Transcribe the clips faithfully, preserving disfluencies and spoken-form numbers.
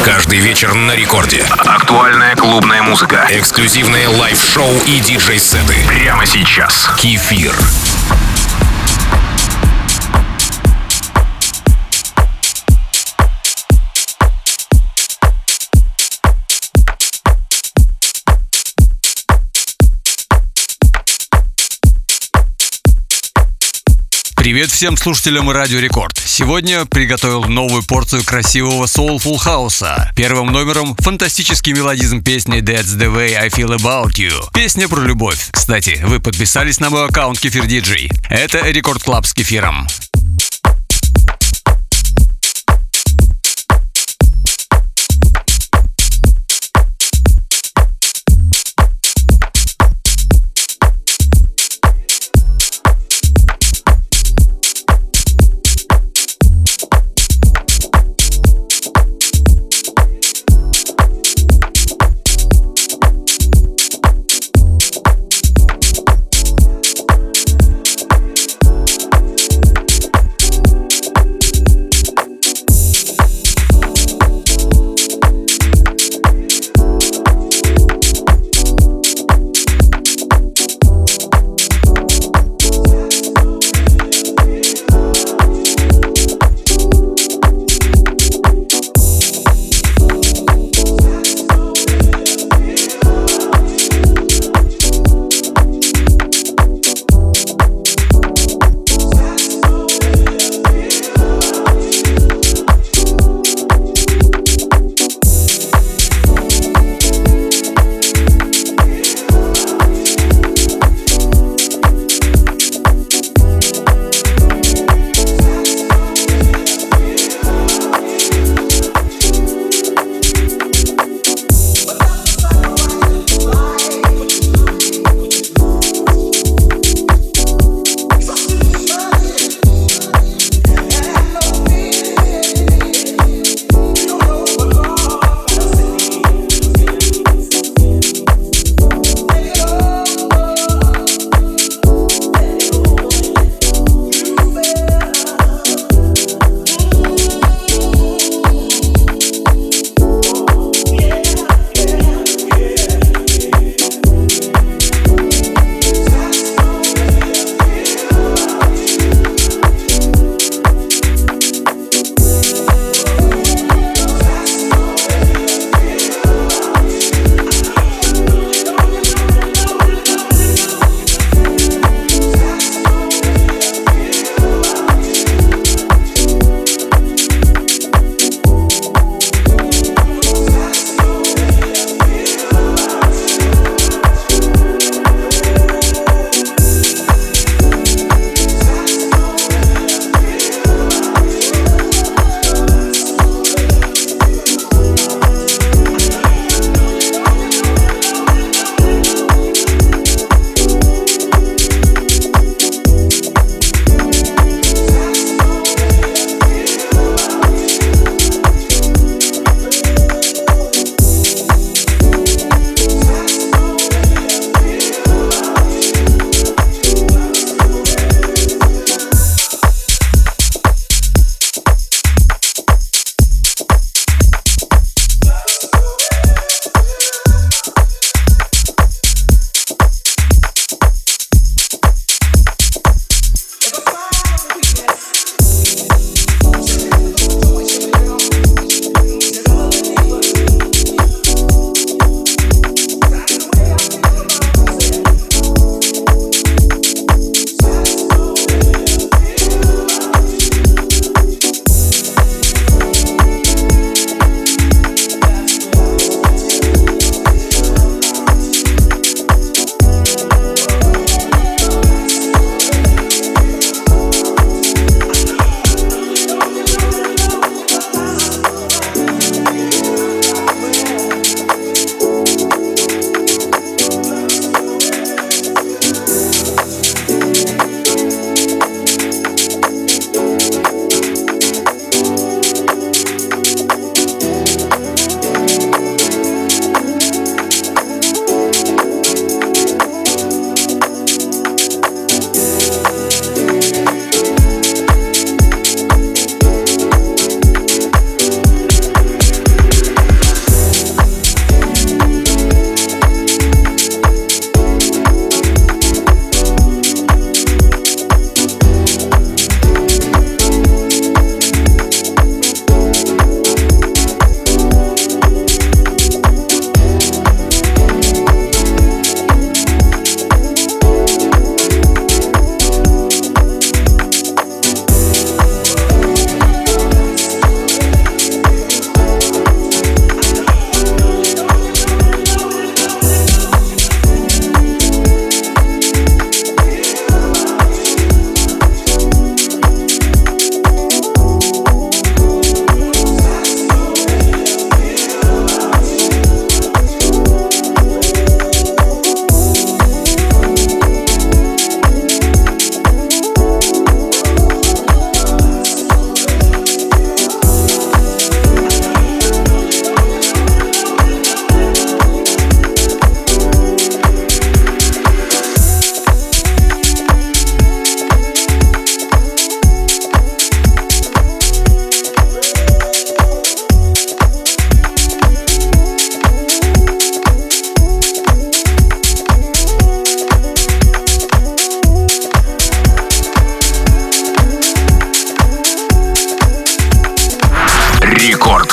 Каждый вечер на рекорде. Актуальная клубная музыка. Эксклюзивные лайв-шоу и диджей-сеты. Прямо сейчас. Кефир. Привет всем слушателям Радио Рекорд. Сегодня приготовил новую порцию красивого soulful хауса. Первым номером фантастический мелодизм песни That's the way I feel about you. Песня про любовь. Кстати, вы подписались на мой аккаунт Кефир Диджей. Это Рекорд Клаб с Кефиром.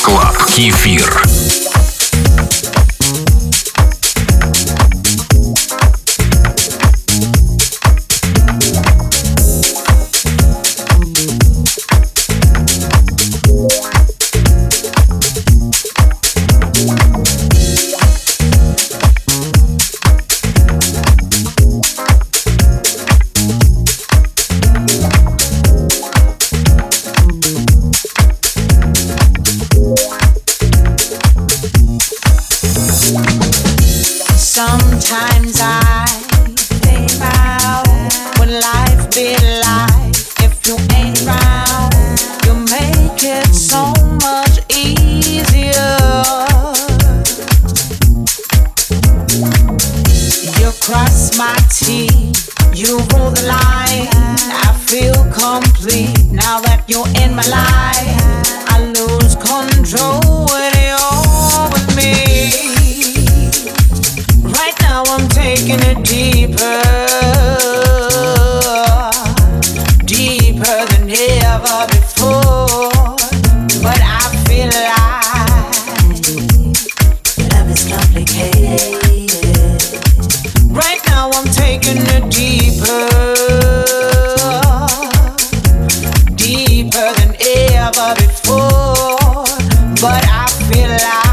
Клаб. Кефир. Sometimes I think about what life be like if you ain't round. You make it so much easier. You cross my T, you roll the line. I feel complete now that you're in my life. I lose control when you're with me. Right now I'm taking it deeper, deeper than ever before. But I feel like love is complicated. Right now I'm taking it deeper, deeper than ever before. But I feel like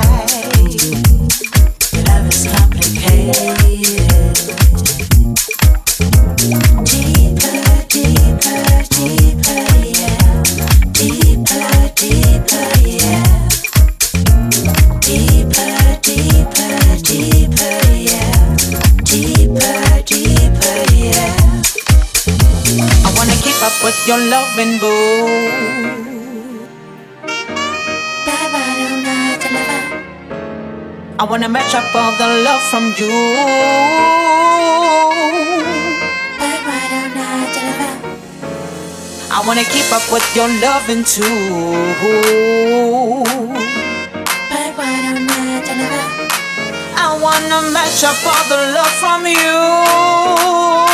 with your loving boo. I wanna match up all the love from you. I wanna keep up with your loving too. I wanna match up all the love from you.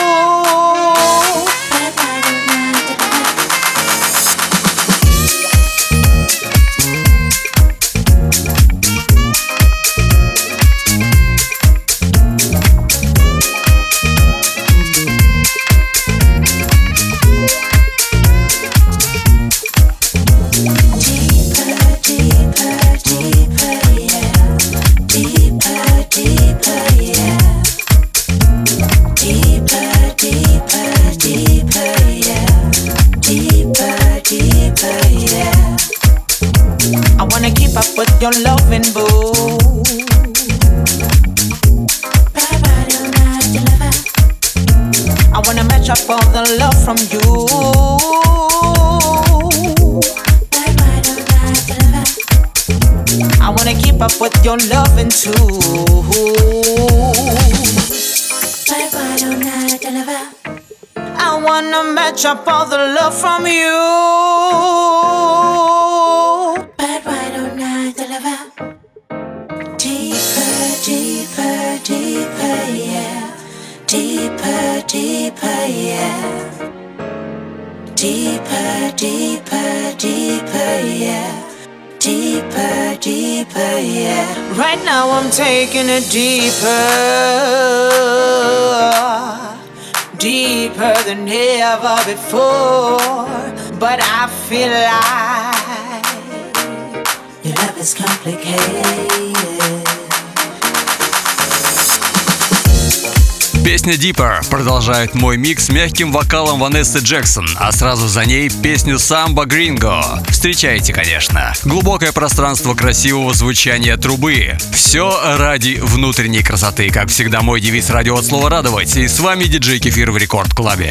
With your loving boo. I wanna match up all the love from you. I wanna keep up with your loving too. I wanna match up all the love from you. Deeper, deeper, yeah. Deeper, deeper, yeah. Deeper, deeper, deeper, yeah. Deeper, deeper, yeah. Right now I'm taking it deeper, deeper than ever before. But I feel like your love is complicated. Песня Deeper продолжает мой микс с мягким вокалом Ванессы Джексон, а сразу за ней песню Samba Gringo. Встречайте, конечно. Глубокое пространство красивого звучания трубы. Все ради внутренней красоты. Как всегда, мой девиз радио от слова радовать. И с вами диджей Кефир в Рекорд Клабе.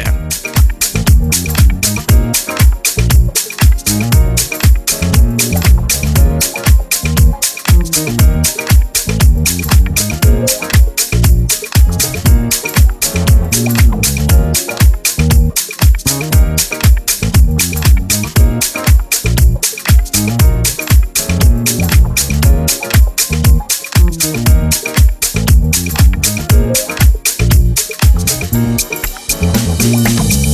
We'll be right back.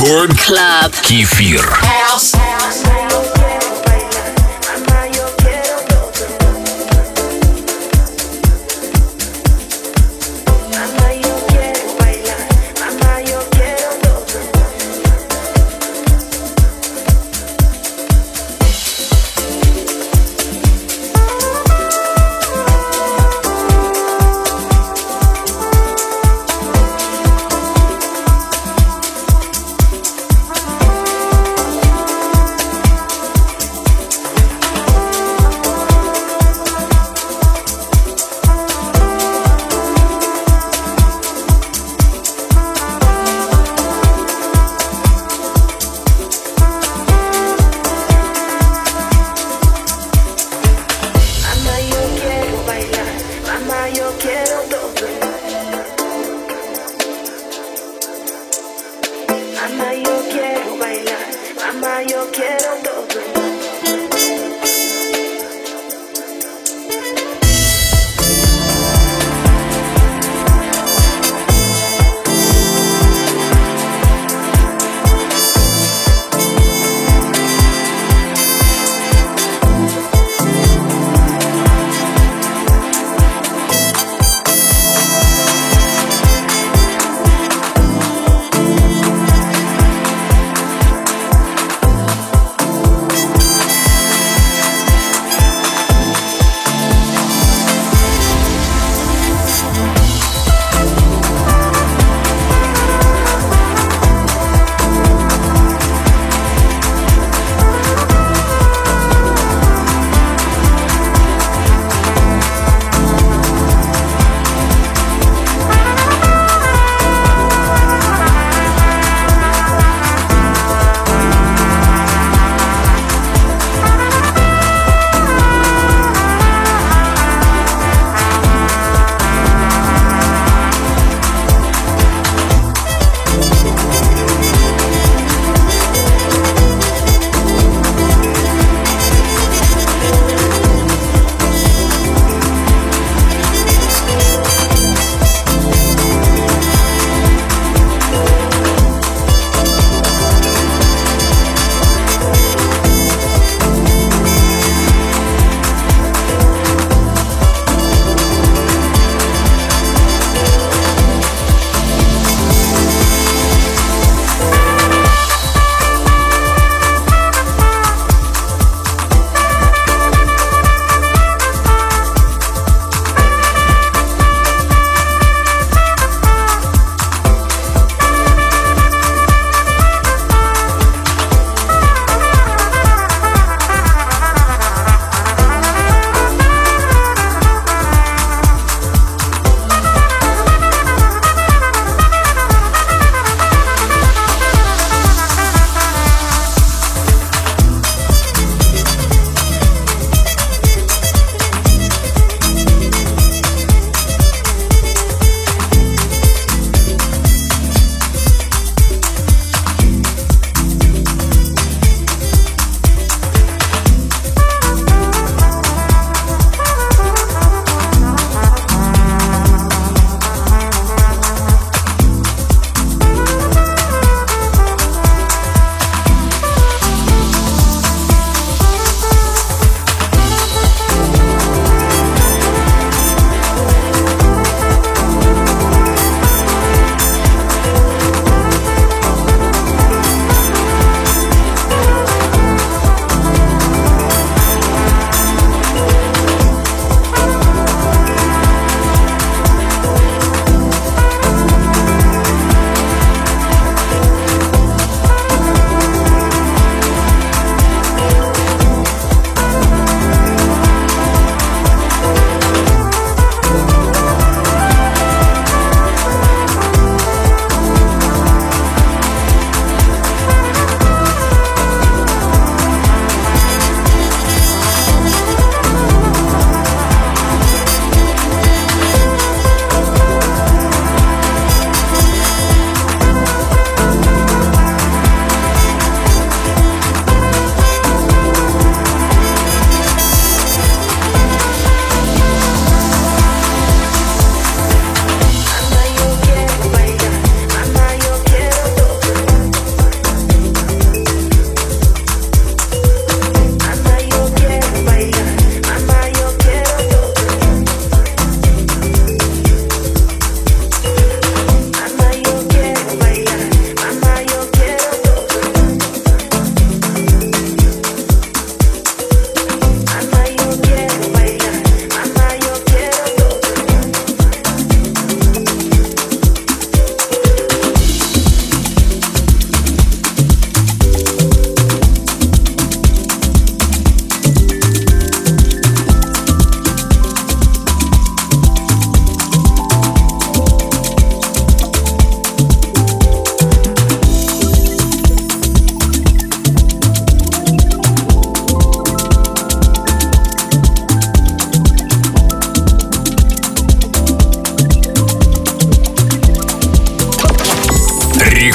Record Club. Кефир.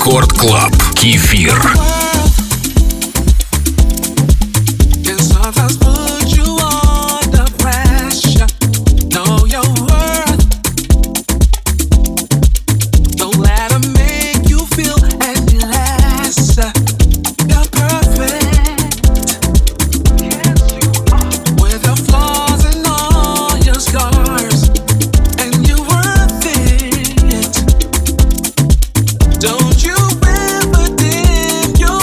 Рекорд Клаб. Кефир. Don't you ever dim your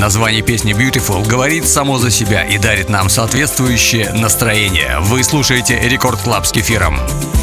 Название песни Beautiful говорит само за себя и дарит нам соответствующее настроение. Вы слушаете Рекорд Клаб с Кефиром.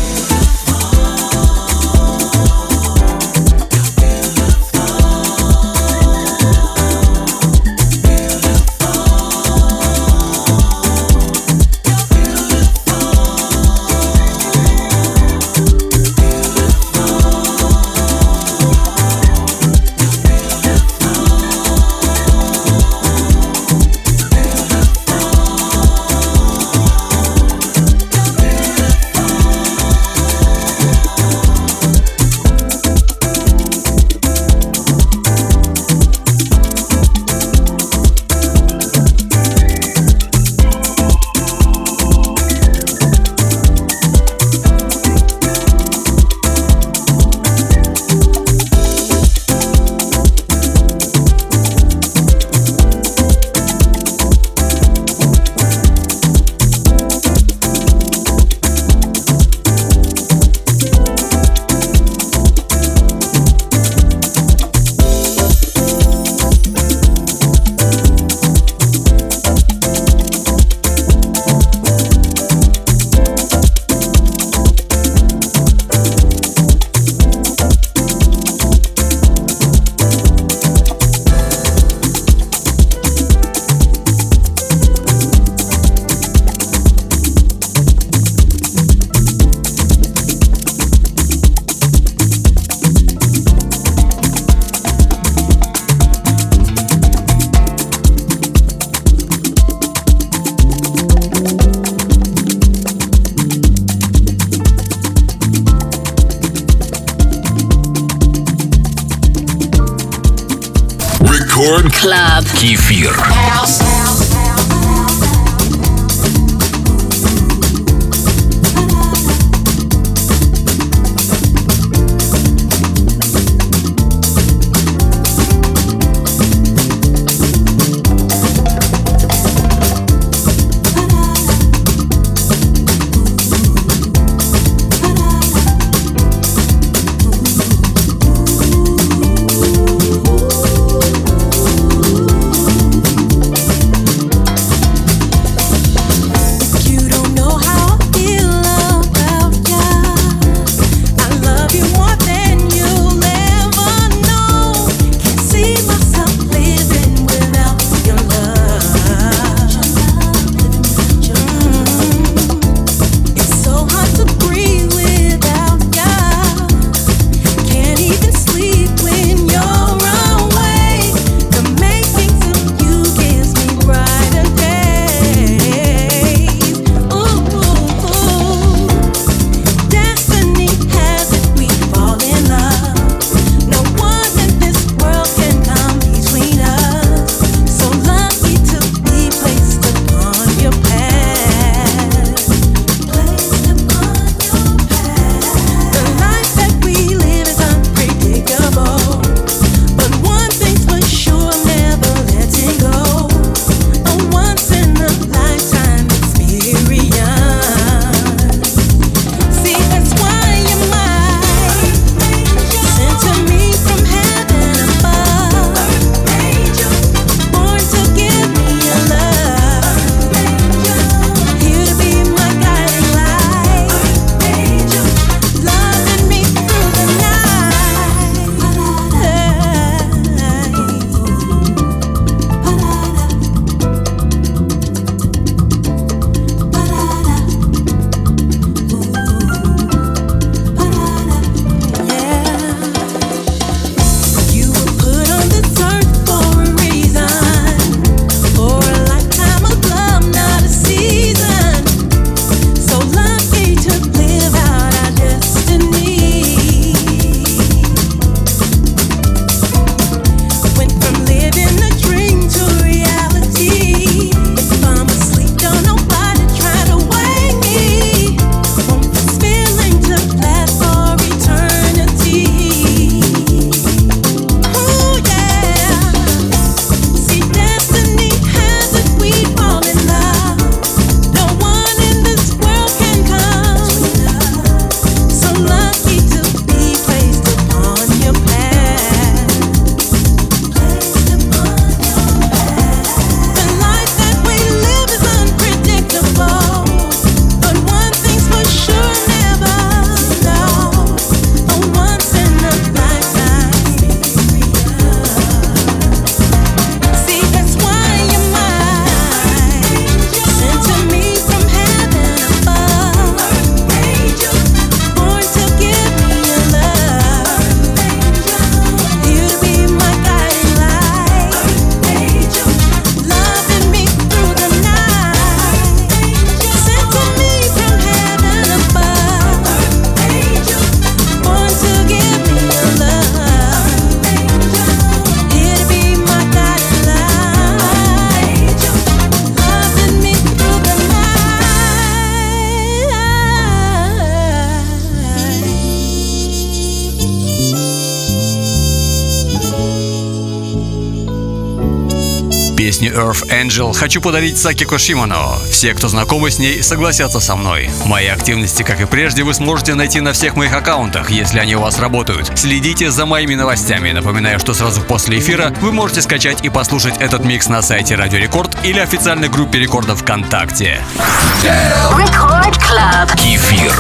Club. Кефир. Песню Earth Angel хочу подарить Сакико Шимоно. Все, кто знакомы с ней, согласятся со мной. Мои активности, как и прежде, вы сможете найти на всех моих аккаунтах, если они у вас работают. Следите за моими новостями. Напоминаю, что сразу после эфира вы можете скачать и послушать этот микс на сайте Радио Рекорд или официальной группе Рекордов ВКонтакте. Record Club. Кефир.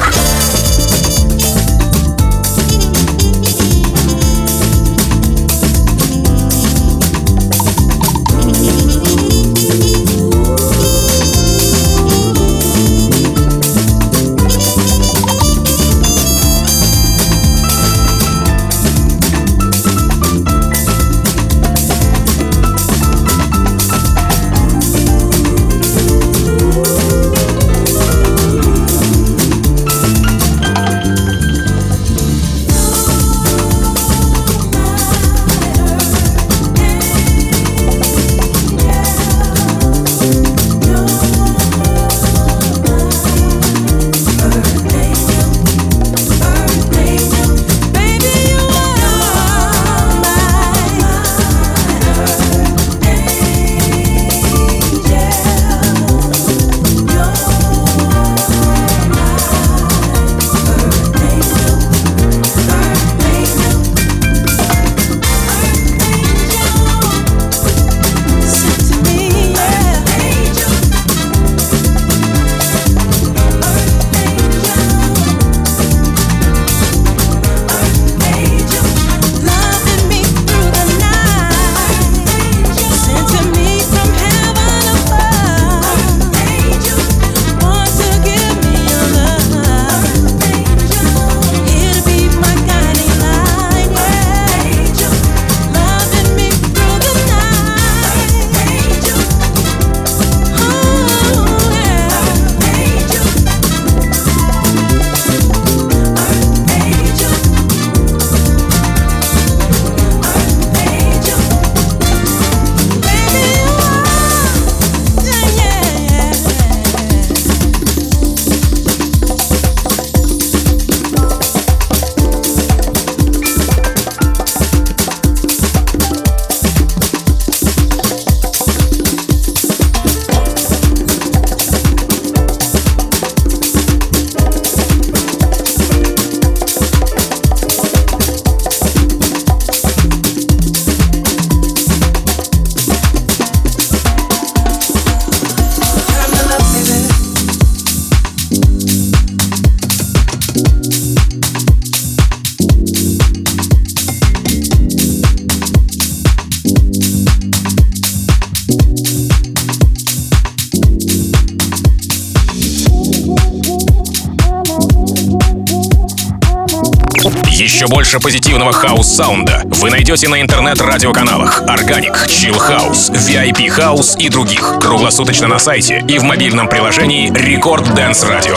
Еще больше позитивного хаус-саунда вы найдете на интернет-радиоканалах Organic, Chill House, ви ай пи House и других. Круглосуточно на сайте и в мобильном приложении Record Dance Radio.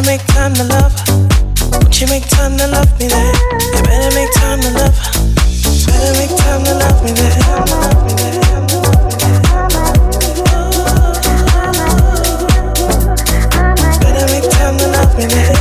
make time to love. Won't you make time to love me there? You better make time to love. Better make time to love me there. Better make time to love me there.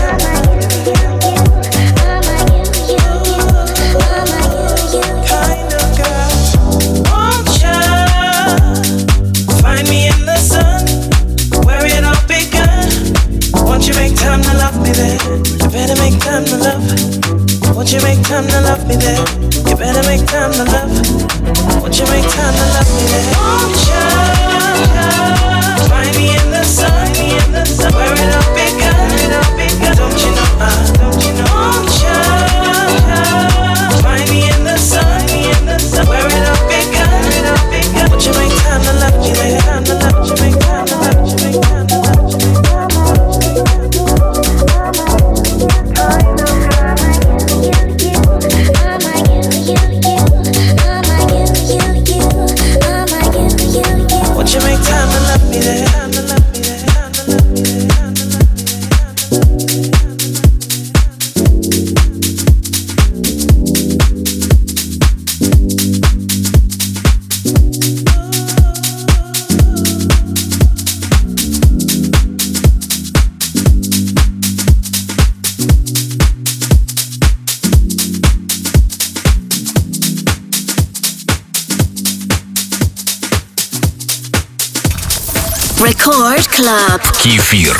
Kind of girl, won't you find me in the sun where it all began? Won't you make time to love me there? You better make time to love. Won't you make time to love me there? You better make time to love. Won't you make time to love me there? Won't you find me in the sun, where it all began? Don't you know? Uh, don't you know? Won't you find me in the sun, where it all began? Won't you make time to love me there? Won't you make time to love? You make time to love. Won't you make time to love me there? Record Club. Кефир.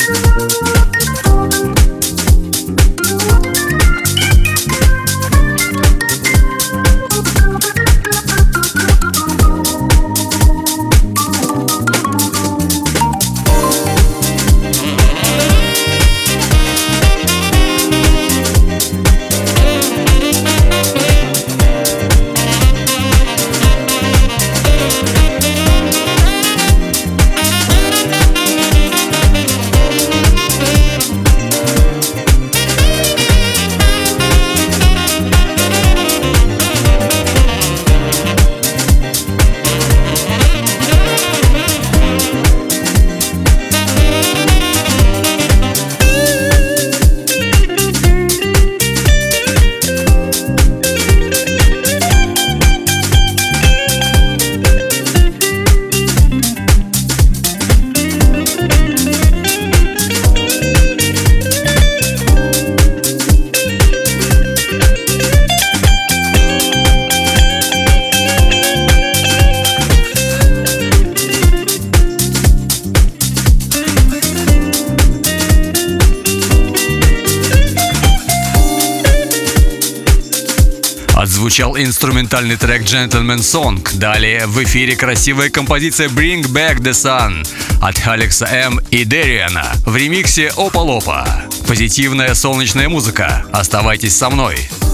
Отзвучал инструментальный трек Gentleman Song. Далее в эфире красивая композиция Bring Back the Sun от Алекса М и Дериана в ремиксе Опа Лопа. Позитивная солнечная музыка. Оставайтесь со мной.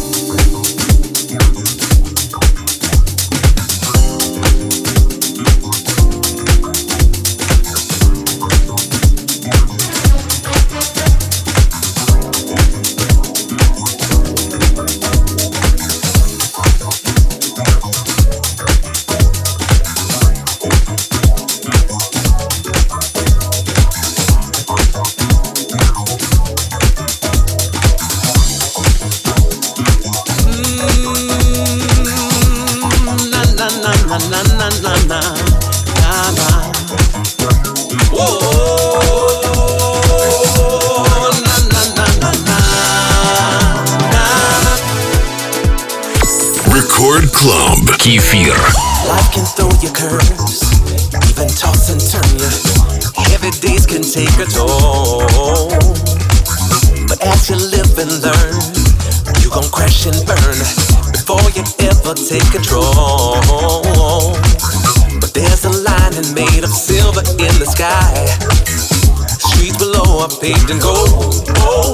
Record Club. Кефир. Life can throw you curves, even toss and turn you. Heavy days can take a toll, but as you live and learn, you gon' crash and burn before you ever take control. But there's a lining made of silver in the sky. Streets below are paved in gold.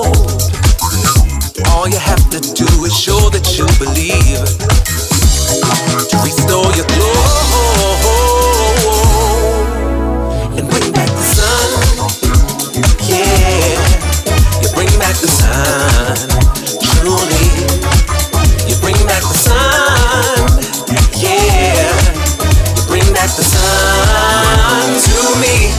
All you have to do is show that you believe, to restore your glow and bring back the sun. Yeah, you bring back the sun. Truly, you bring back the sun. Yeah, you bring back the sun to me.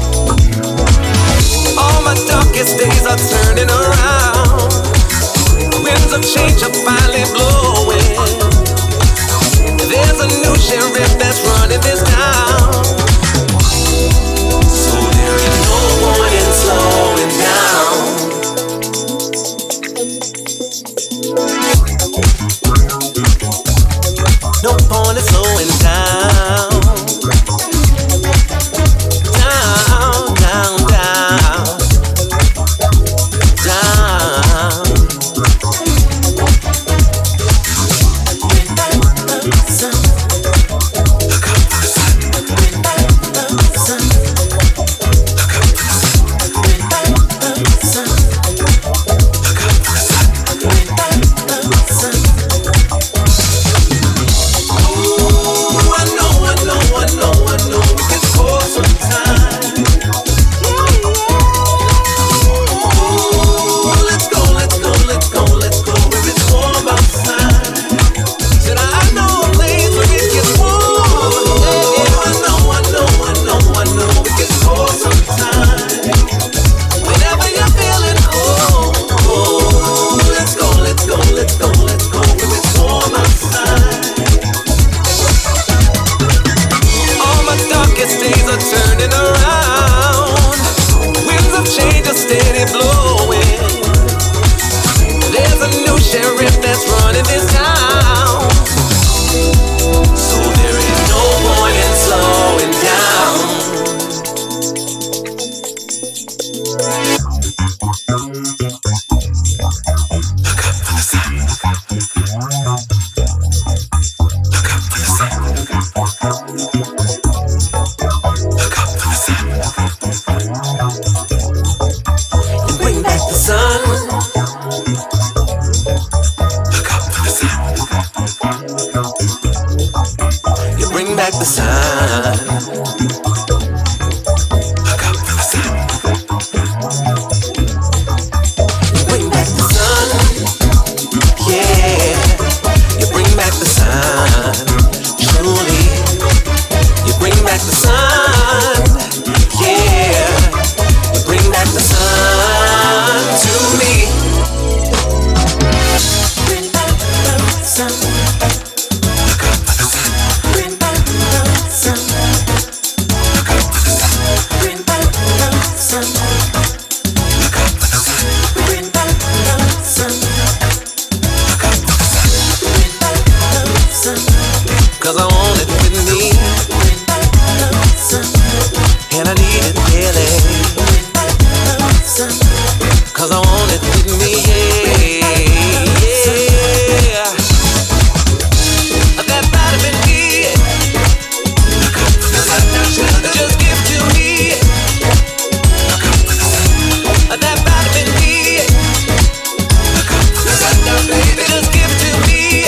All my darkest days are turning around. Winds of change are finally blowing. There's a new sheriff that's running this town, so there is no point in slowing down. No point in slowing down. Down, down, down, down. cause I want it with me, yeah, yeah. That vitamin D, just give to me. That vitamin D, just give to me.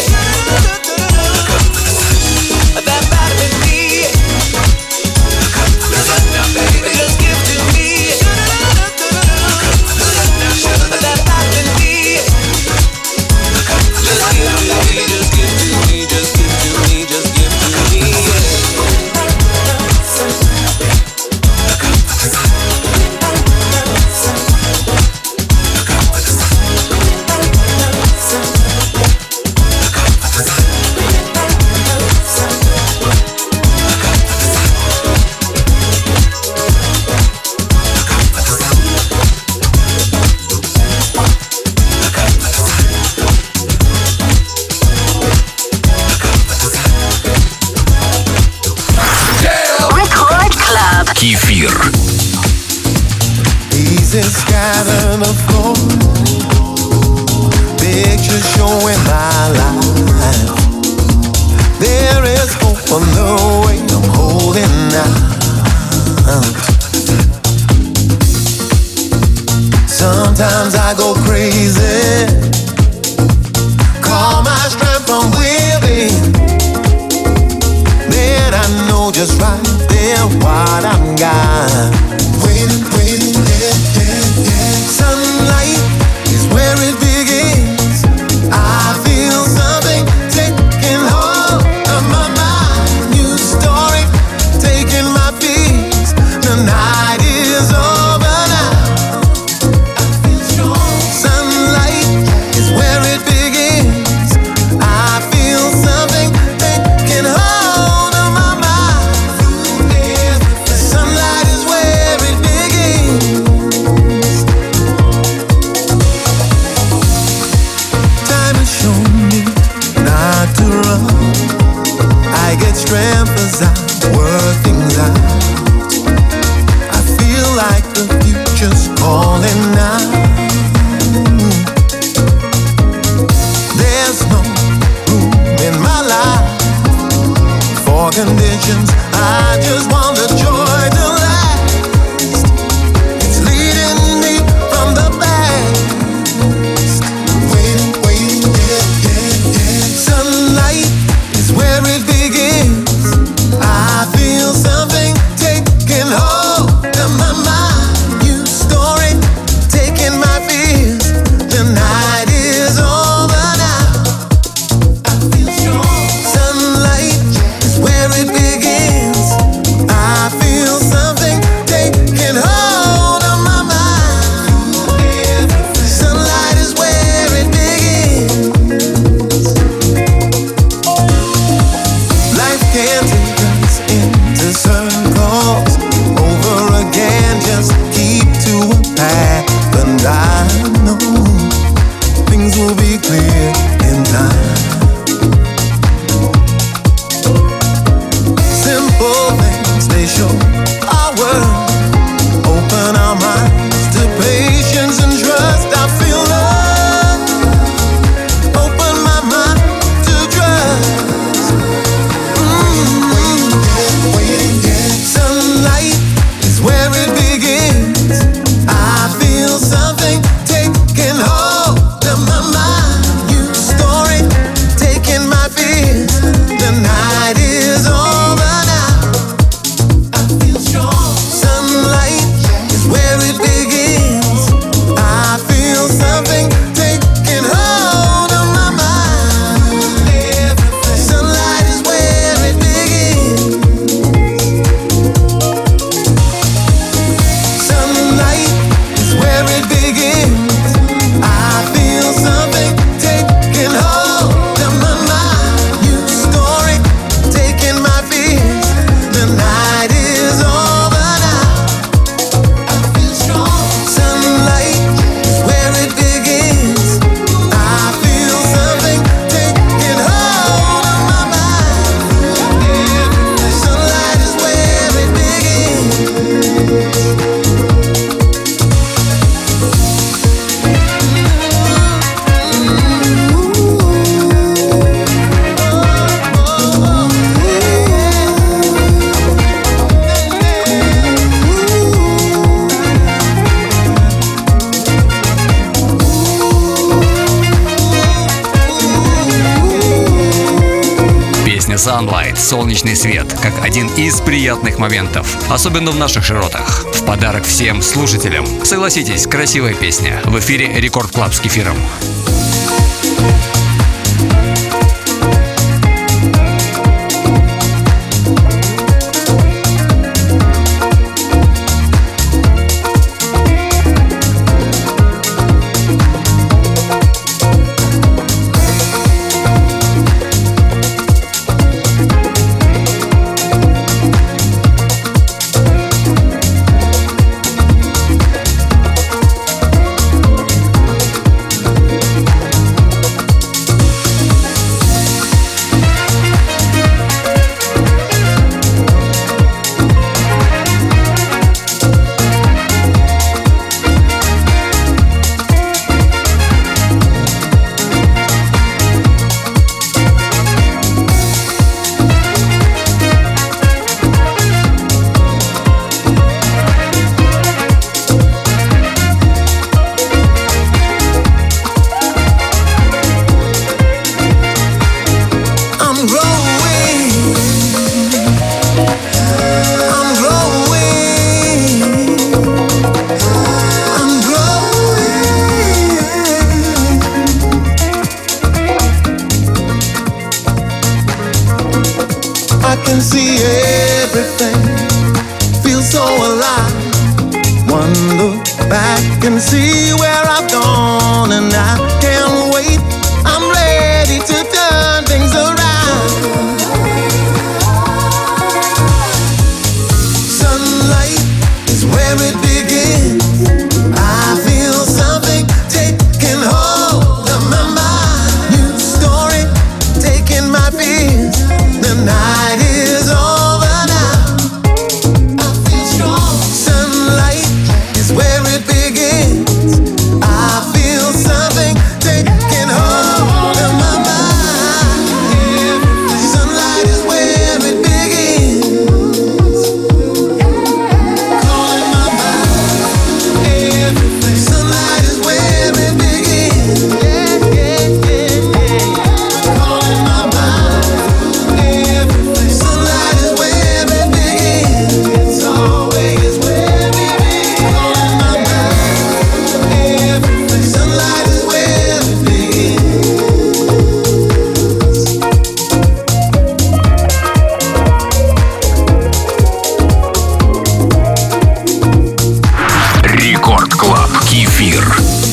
That vitamin D, just give to me. That vitamin D, just give to me, just give to me, just give to me, just give to me, yeah. Кефир. Pieces scattered the floor, pictures showing my life. There is hope on the way I'm holding out. Sometimes I go crazy, call my strength from within. Then I know just right there what I'm got. Waiting, waiting, yeah, yeah, yeah. Sunlight is where it begins. I feel something taking hold of my mind. New story taking my peace. The night is over now. I feel strong. Sunlight is where it begins. I feel something taking hold. Sunlight is where Песня Sunlight, солнечный свет, как один из приятных моментов, особенно в наших широтах. В подарок всем слушателям. Согласитесь, красивая песня. В эфире Рекорд Клаб с Кефиром. I can see everything, feel so alive. One look back and see where I've gone, and I can't wait. I'm ready to turn things around. Sunlight is where it begins. I feel something taking hold of my mind. New story taking my fears. The night is over now. I feel strong. Sunlight is where it begins. I feel something taking hold of my mind. Sunlight is where it begins. Calling my mind. Sunlight is where it begins. Yeah, yeah, yeah, yeah. Calling my mind. Sunlight is where it begins. It's always where it begins. Calling my mind. Sunlight is where it begins. Рекорд Клаб Кефир.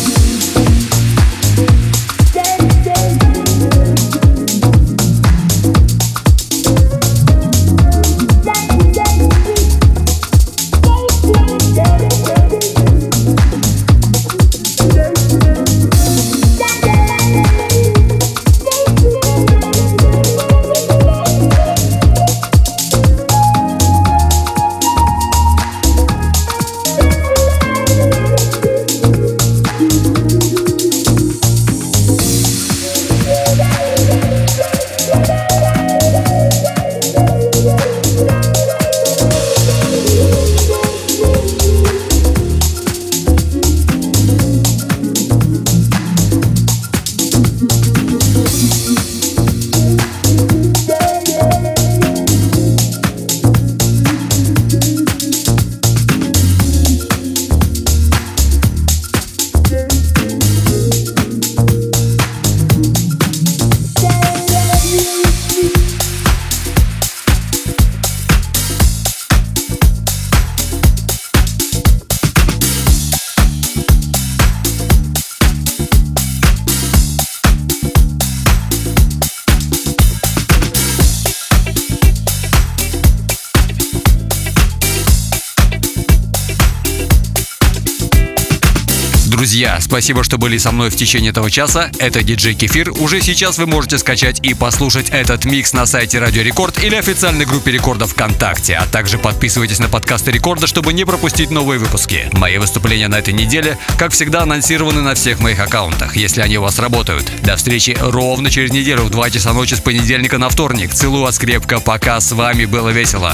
Друзья, спасибо, что были со мной в течение этого часа. Это диджей Кефир. Уже сейчас вы можете скачать и послушать этот микс на сайте Радио Рекорд или официальной группе Рекорда ВКонтакте. А также подписывайтесь на подкасты Рекорда, чтобы не пропустить новые выпуски. Мои выступления на этой неделе, как всегда, анонсированы на всех моих аккаунтах, если они у вас работают. До встречи ровно через неделю в два часа ночи с понедельника на вторник. Целую вас крепко. Пока. С вами было весело.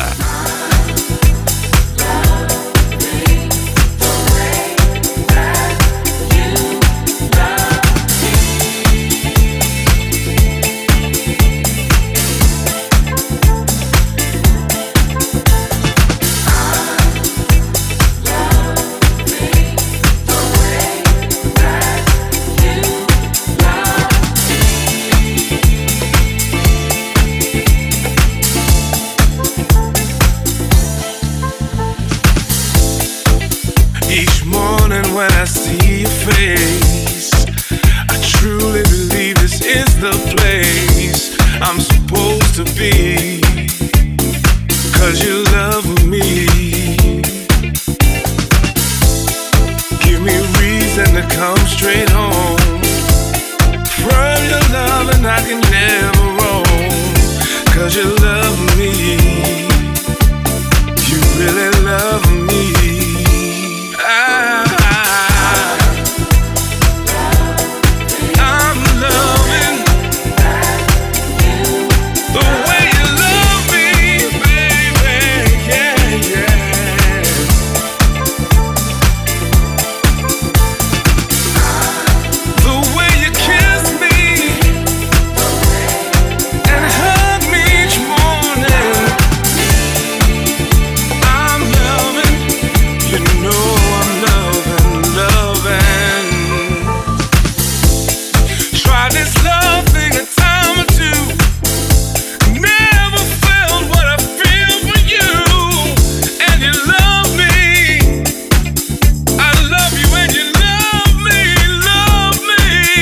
face. I truly believe this is the place I'm supposed to be, 'cause you love me. Give me reason to come straight home from your love, and I can never roam, 'cause you love me. You really love me. I, I'm loving the way you love me, baby. Yeah, yeah. The way you kiss me and hug me each morning. I'm loving, you know I'm loving, loving. Try this love thing a time or two. Never felt what I feel for you, and you love me. I love you and you love me, love me.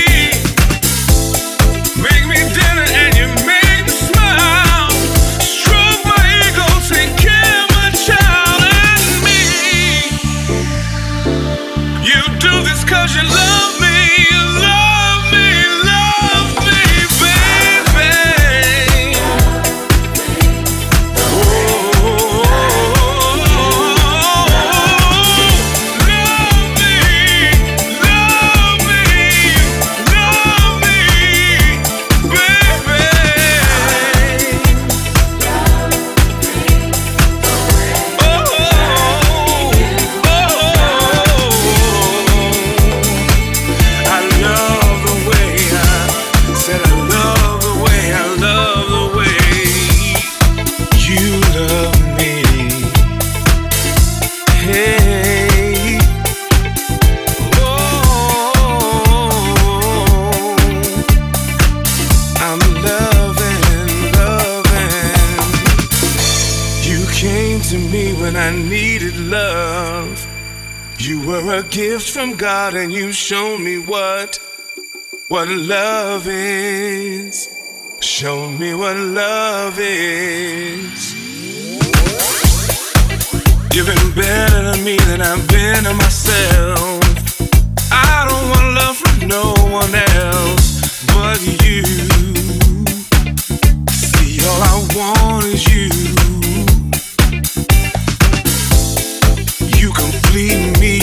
Make me dinner and you make me smile. Stroke my ego, take care of my child and me. You do this 'cause you love me, you love me, love me, baby. Oh, love me, love me, love me, baby. Oh, oh, I love the way I said I love the way I love the way you love me. Hey, oh, I'm loving, loving. You came to me when I needed love. You were a gift from God, and you showed me what what love is. Show me what love is. You've been better to me than I've been to myself. I don't want love from no one else but you. See, all I want is you. You complete me.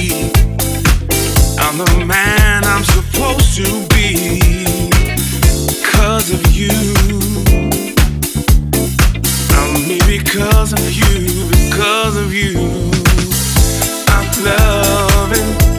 I'm the man I'm supposed to be, 'cause of you. I'm me because of you, because of you. I'm loving